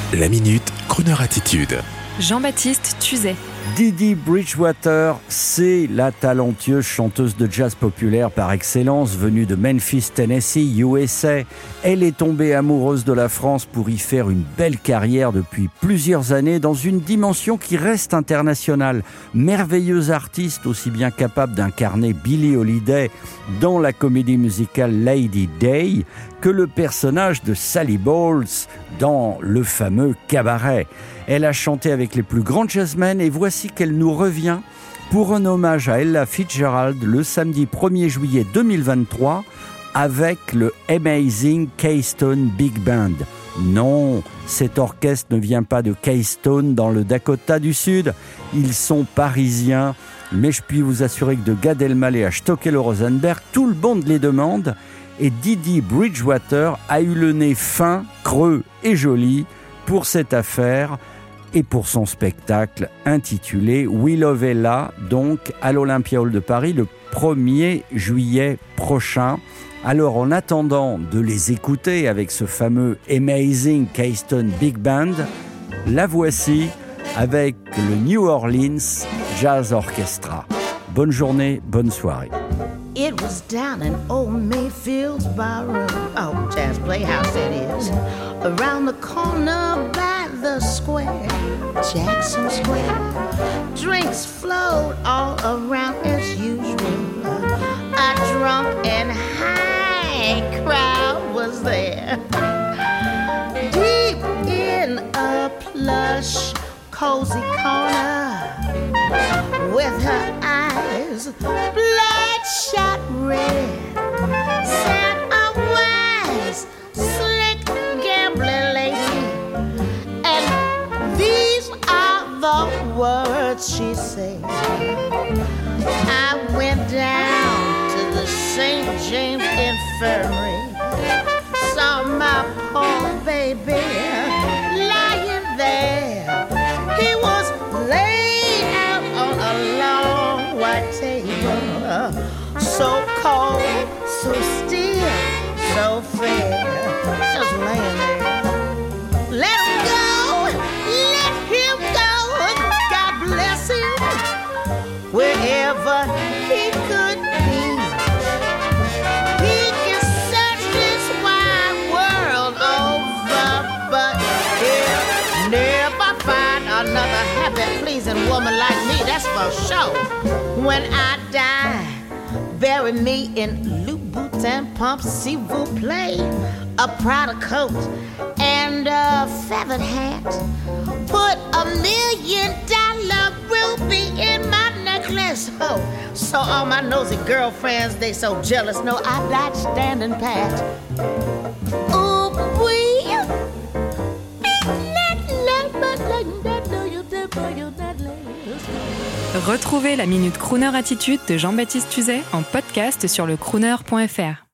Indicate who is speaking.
Speaker 1: La Minute Crooner Attitude.
Speaker 2: Jean-Baptiste Tuzet.
Speaker 3: Dee Bridgewater, c'est la talentueuse chanteuse de jazz populaire par excellence venue de Memphis, Tennessee, USA. Elle est tombée amoureuse de la France pour y faire une belle carrière depuis plusieurs années dans une dimension qui reste internationale. Merveilleuse artiste aussi bien capable d'incarner Billie Holiday dans la comédie musicale Lady Day que le personnage de Sally Bowles dans le fameux Cabaret. Elle a chanté avec les plus grands jazzmen et voici qu'elle nous revient pour un hommage à Ella Fitzgerald le samedi 1er juillet 2023 avec le Amazing Keystone Big Band. Non, cet orchestre ne vient pas de Keystone dans le Dakota du Sud. Ils sont parisiens, mais je puis vous assurer que de Gad Elmaleh à Stockel-Rosenberg, tout le monde les demande. Et Dee Bridgewater a eu le nez fin, creux et joli pour cette affaire et pour son spectacle intitulé We Love Ella, donc à l'Olympia Hall de Paris le 1er juillet prochain. Alors en attendant de les écouter avec ce fameux Amazing Keystone Big Band, la voici avec le New Orleans Jazz Orchestra. Bonne journée, bonne soirée.
Speaker 4: It was down in old Mayfield's barroom, oh, Jazz Playhouse it is, around the corner by the square, Jackson Square. Drinks flowed all around as usual. A drunk and high crowd was there. Deep in a plush, cozy corner, with her eyes bloodshot red, sat a wise, slick, gambling lady, and these are the words she said. I went down to the St. James Infirmary, saw my poor baby lying there. He was laid out on a long white table, so cold, so still, so fair, just laying there. Let him go, God bless him, wherever he could be. He can search this wide world over, but he'll never find another happy, pleasing woman like me, that's for sure. When I die, bury me in Louboutin pumps, s'il vous plaît, a Prada coat and a feathered hat. Put $1 million ruby in my necklace. Oh, so all my nosy girlfriends, they so jealous. No, I died standing pat. Ooh,
Speaker 2: Retrouvez la Minute Crooner Attitude de Jean-Baptiste Tuzet en podcast sur le crooner.fr.